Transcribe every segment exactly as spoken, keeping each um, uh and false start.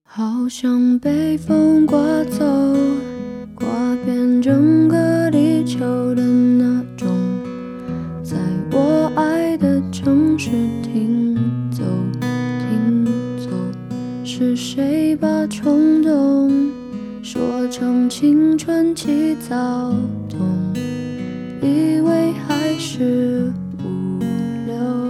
好像被风刮走，刮遍整个地球的那种，在我爱的城市停走停走。是谁把冲动说成青春期躁动，以为还是无聊。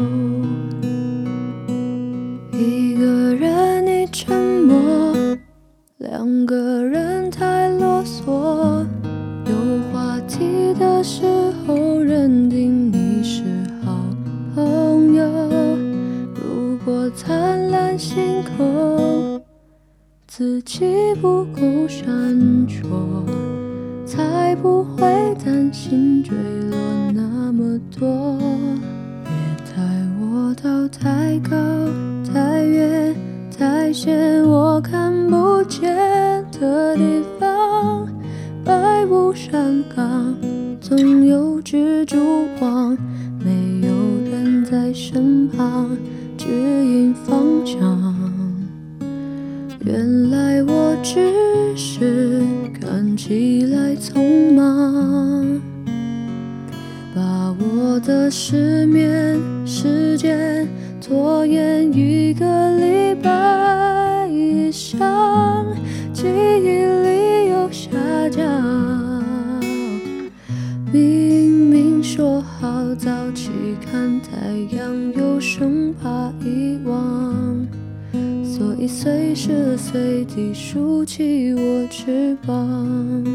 一个人你沉默，两个人太啰嗦，有话题的时候认定你是好朋友。如果灿烂星空自己不够闪烁，才不会担心坠落那么多。别带我到太高太远太险我看不见的地方，白雾山岗总有蜘蛛网，没有人在身旁指引方向。原来我只是看起来匆忙，把我的失眠时间拖延一个礼拜以上，记忆力又下降。明明说好早起看太阳，又生怕遗忘，所以随时随地竖起我翅膀。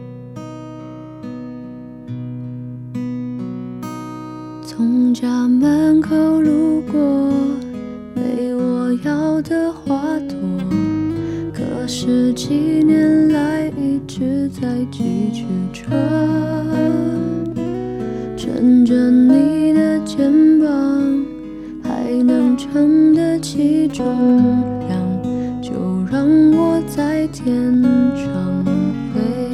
从家门口路过，没我要的花朵，可是几年来一直在继续着。枕着你的肩膀，还能撑得起重量，就让我在天上飞。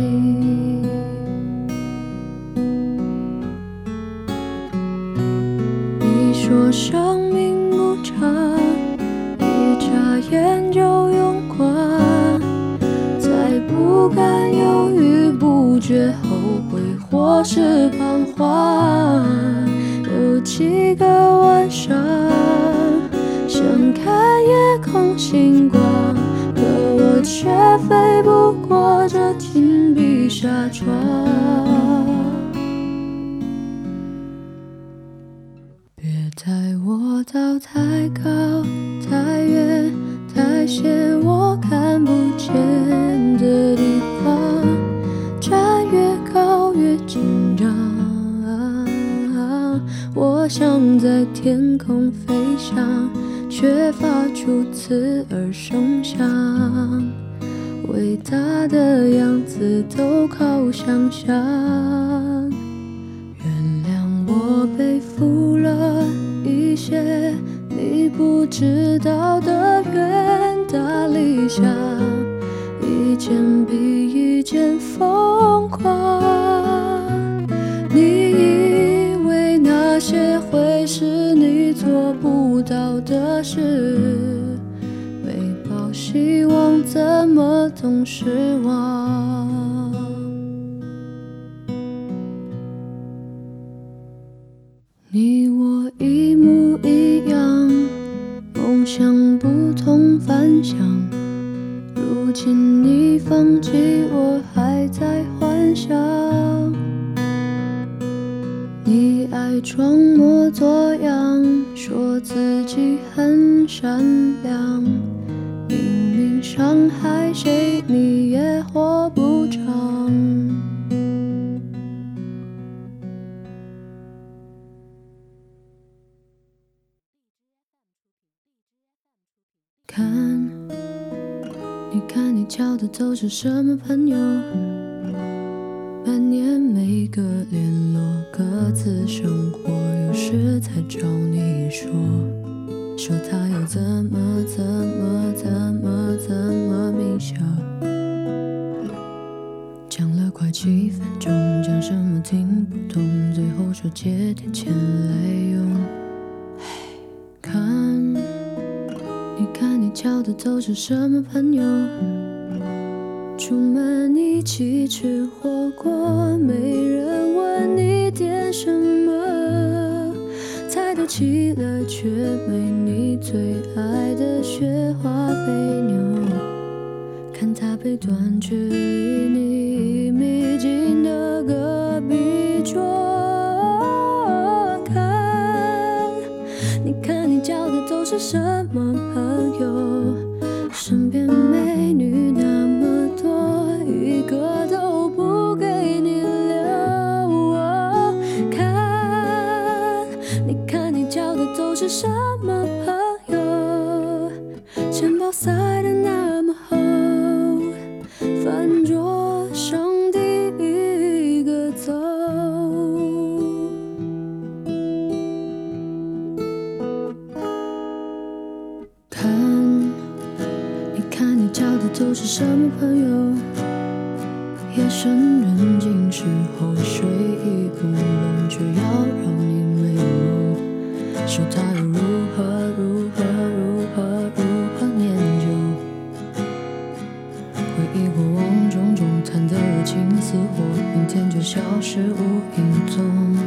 你说生命无常，一眨眼就用光，再不敢犹豫不决，后悔或是彷徨。有几个晚上想看夜空星光，可我却飞不过这紧闭纱窗。别带我到太高太远太险我看不见的地方，站越高越紧张。我想在天空飞翔，却发出刺耳声响，伟大的样子都靠想象。原谅我背负了一些你不知道的远大理想，一件比一件疯狂。你以为那些会是你做不到的事，没抱希望怎么懂失望。你我一模一样，梦想不同凡响，如今你放弃我还在幻想。你爱装模作样，说自己很善良，明明伤害谁你也活不长。看，你看你交的都是什么朋友，半年没个联络，各自生活，有时才找你说，说他又怎么怎么怎么怎么渺小。讲了快七分钟，讲什么听不懂，最后说借点钱来用。看，你看你交的都是什么朋友？出门一起吃火锅，没人问你点什么，菜都齐了，却没你最爱的雪花飞牛。看他背段距离你一米近的隔壁桌，看，你看你交的都是什么朋友？身边美女那么多，一个都不给你留。看，你看你交的都是什么朋友？钱包塞得那么厚，饭桌上第一个走。看，你看你交的都是什么朋友？夜深人静时候，睡意不浓，却要让你美梦。说他又如何如何如何如何念旧？回忆过往种种，谈得热情似火，明天就消失无影踪。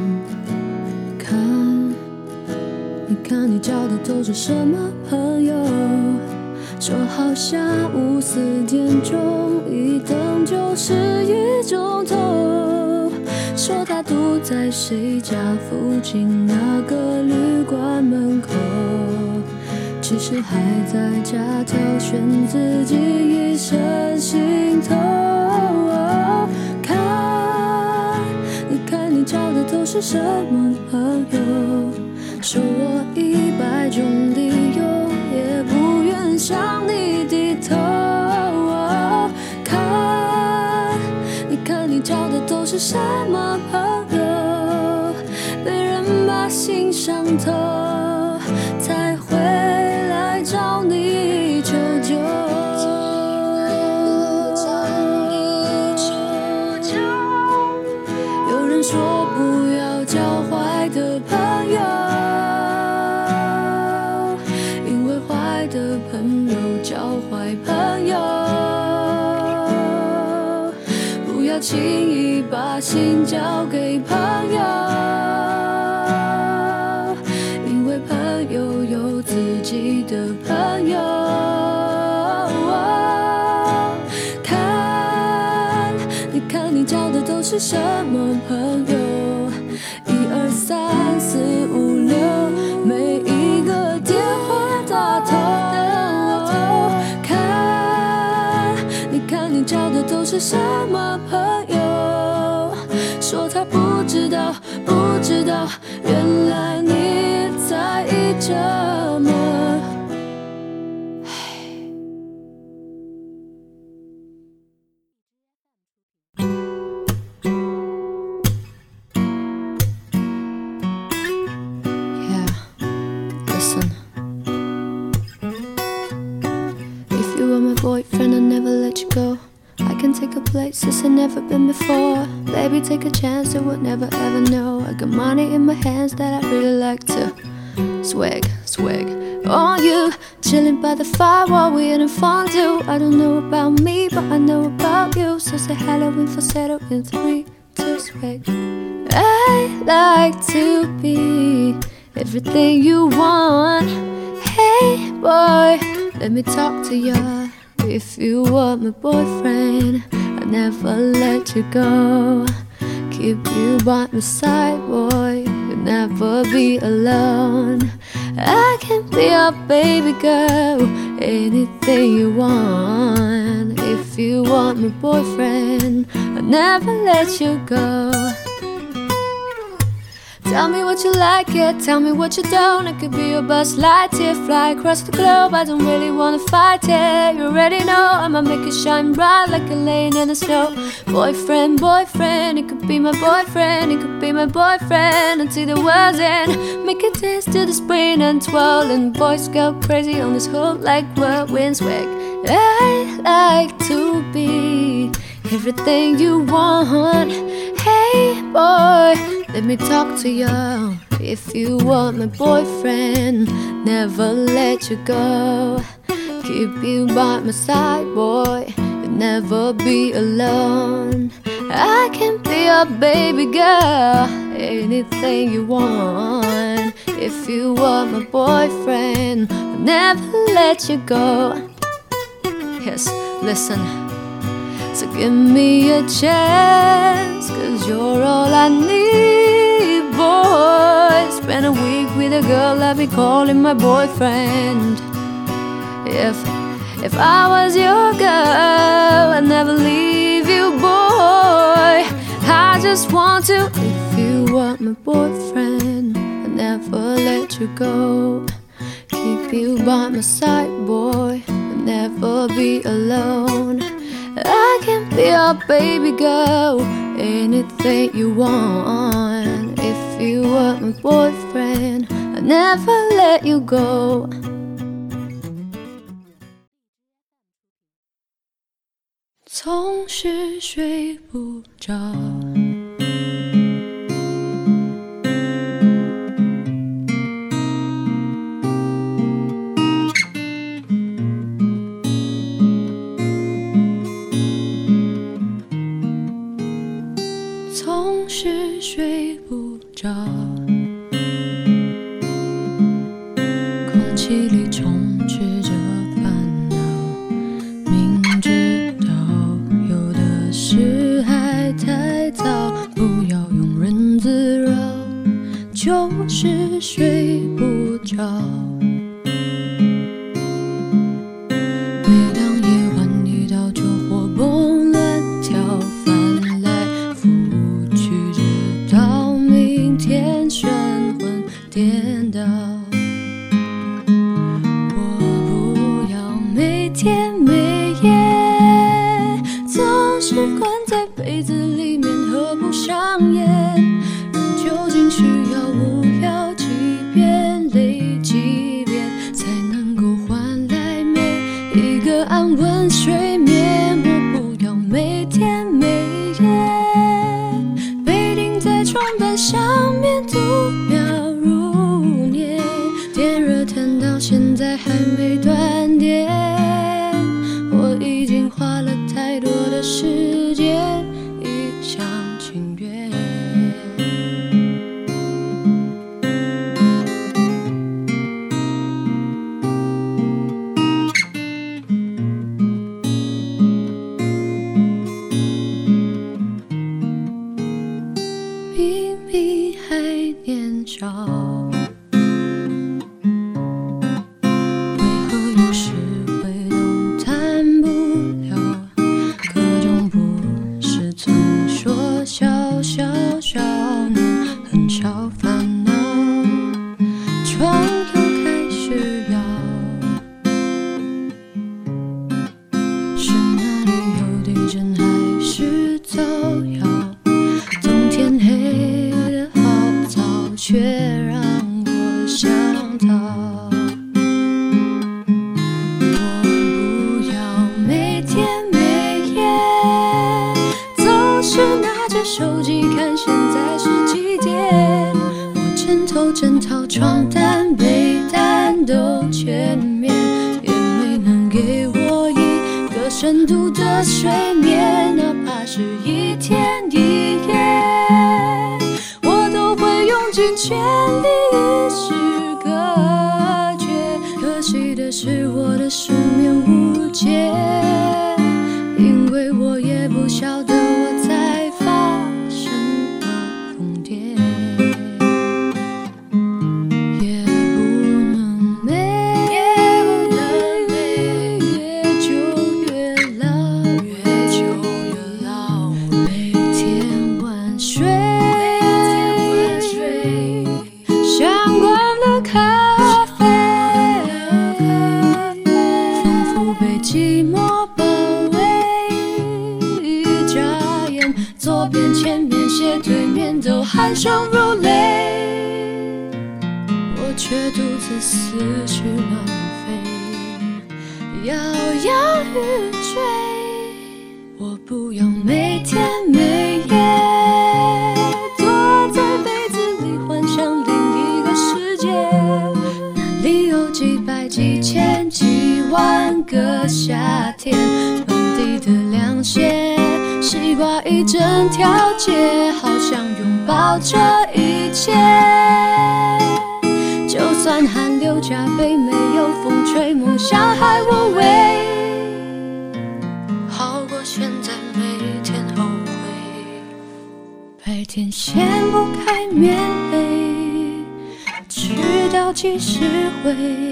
看，你看你交的都是什么朋友？说好下午四点钟，一等就是一钟头。说他堵在谁家附近那个旅馆门口，其实还在家挑选自己一身行头。看，你看你交的都是什么朋友？说我一百种理由，也不愿向你低头。看，你看你交的都是什么朋友？被人把心伤透，才回来找你求救。有人说不要交坏的朋友，因为坏的朋友教坏朋友。不要轻易把心交给朋友，因为朋友有自己的朋友。看，你看你交的都是什么朋友？一二三四五六，每一个电话打通。看，你看你交的都是什么朋友？说他不知道，不知道，原来你在意这么。Boyfriend, I'll never let you go. I can take you places I've never been before. Baby, take a chance, you would never ever know. I got money in my hands that I really like to swag, swag on you. Chilling by the fire while we having fun too. I don't know about me, but I know about you. So say hello in falsetto in three, two, swag. I like to be everything you want. Hey boy, let me talk to you. If you were my boyfriend, I'd never let you go. Keep you by my side, boy, you'll never be alone. I can be your baby girl, anything you want. If you want my boyfriend, I'll never let you go. Tell me what you like, yeah, tell me what you don't. I could be your bus lightyear, fly across the globe. I don't really wanna fight, yeah, you already know I'ma make you shine bright like a lane in the snow. Boyfriend, boyfriend, it could be my boyfriend, it could be my boyfriend until the world's end. Make it dance to the spring and twirl, and boys go crazy on this hook like whirlwind swag. I like to be everything you want. Hey boy, let me talk to you. If you want my boyfriend, never let you go. keep you by my side, boy. You'll never be alone. I can be your baby girl, anything you want. If you were my boyfriend, I'll never let you go. Yes, listen. So give me a chance, cause you're all I need, boy. Spend a week with a girl, let me call him my boyfriend. If, if I was your girl, I'd never leave you, boy. I just want to. If you were my boyfriend, I'd never let you go. Keep you by my side, boy. I'll never be alone. I can be your baby girl, anything you want. If you were my boyfriend, I'd never let you go. 总是睡不着，总是睡不着，空气里充斥着烦恼，明知道有的事还太早，不要庸人自扰，就是睡不着。每当夜晚一到，就活蹦乱跳，翻来覆去，直到明天神魂颠倒。我不要每天每夜总是关在被子里面合不上眼，人究竟需要无聊几遍累几遍才能够换来每一个安稳睡眠？我不要每天每夜被钉在床单上面度秒如年，电热毯到现在还没断电，我已经花了太多的时间一厢情愿。明明还年少，为何有时会动弹不了？各种不是曾说小小少年很少烦恼，床又开始摇，是哪里有地震还是造谣？冬天黑得好早，却让我想逃。我不要每天每夜总是拿着手机看现在是几点，我枕头枕套床单被单都全面，也没能给我一个深度的睡眠，哪怕是一天一夜我都会用尽全力与世隔绝。可惜的是我的失眠无解，因为我也不晓得我在发什么疯癫，也不能每越久越老，越久越老，每天晚睡像关了咖啡，仿佛被寂寞包围，眨眼左边前面斜对面都酣畅如泪，我却独自思绪乱飞，摇摇欲坠。我不要每天每夜躲在被子里幻想另一个世界，那里有几百几千几万半个夏天，满地的凉鞋，西瓜一整条街，好想拥抱这一切。就算汗流浃背，没有风吹，梦想还无畏，好过现在每天后悔。白天掀不开棉被，直到几时回？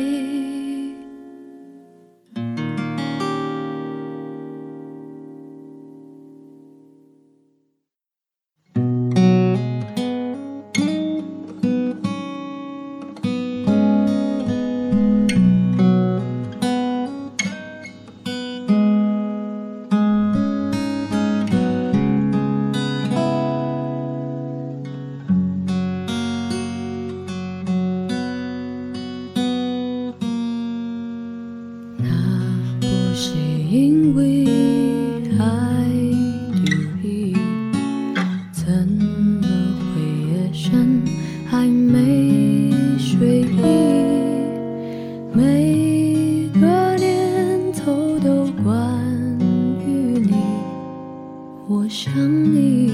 因为爱丢弃，怎么会夜深还没睡意？每个念头都关于你，我想你，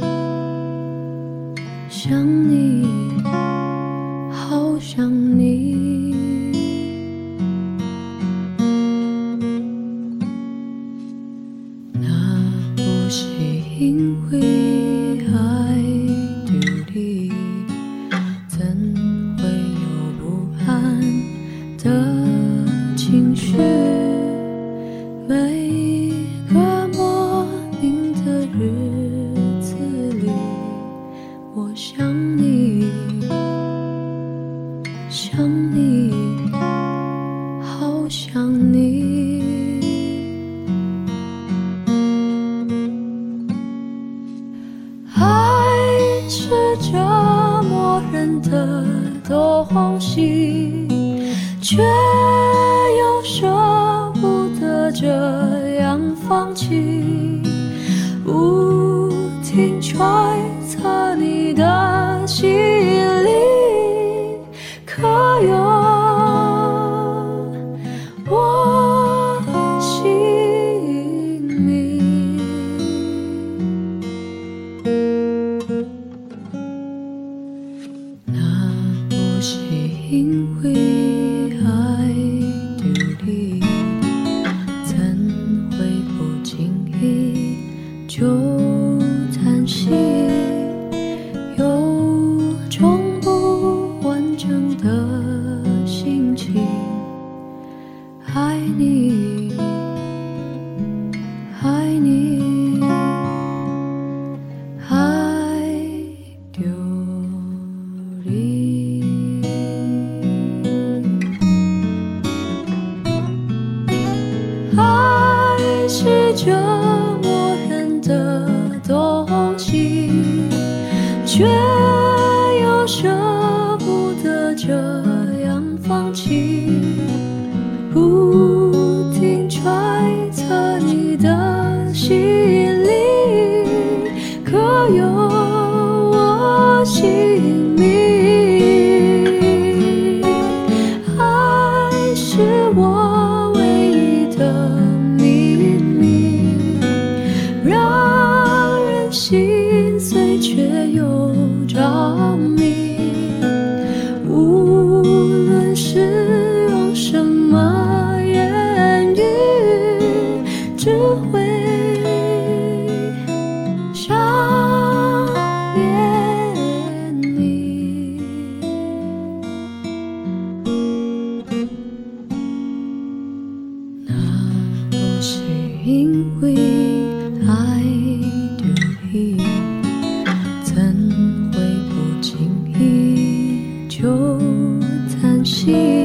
想你，好想你。因为爱丢离，怎会有不安的情绪？每个莫名的日子里，我想你，想你，好想你。是这默认的东西，却又舍不得这样放弃，不停揣测你的心里，可有我姓名？因为爱丢离，怎会不经意就叹息，有种不完整的心情，爱你，爱你，爱丢离。是这默认的东西，却又舍不得这样放弃，不停揣测你的心里，可有我姓名？爱是我唯一的心碎却又着迷，无论是用什么言语，只会想念你。那不是因为爱怎会不经意就叹息？